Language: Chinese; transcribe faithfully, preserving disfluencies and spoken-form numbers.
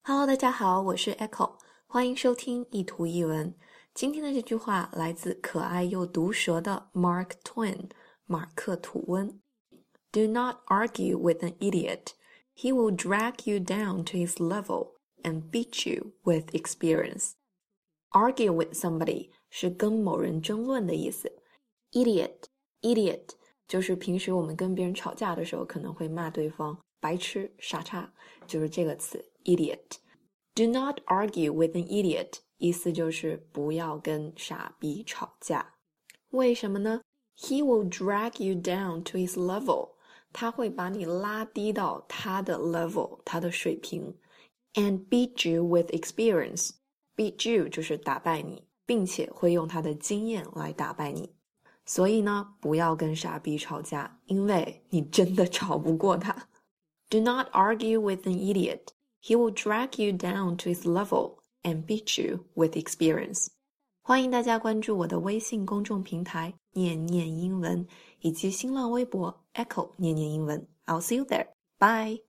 Hello，大家好，我是 Echo， 欢迎收听一图一文。今天的这句话来自可爱又毒舌的 Mark Twain， 马克·吐温。Do not argue with an idiot. He will drag you down to his level and beat you with experience. Argue with somebody 是跟某人争论的意思。Idiot, idiot 就是平时我们跟别人吵架的时候可能会骂对方白痴、傻叉，就是这个词 idiot。Do not argue with an idiot 意思就是不要跟傻逼吵架。为什么呢？ He will drag you down to his level. 他会把你拉低到他的 level, 他的水平。And beat you with experience. Beat you 就是打败你，并且会用他的经验来打败你。所以呢，不要跟傻逼吵架，因为你真的吵不过他。Do not argue with an idiot. He will drag you down to his level and beat you with experience. 欢迎大家关注我的微信公众平台念念英文，以及新浪微博 Echo 念念英文。I'll see you there. Bye.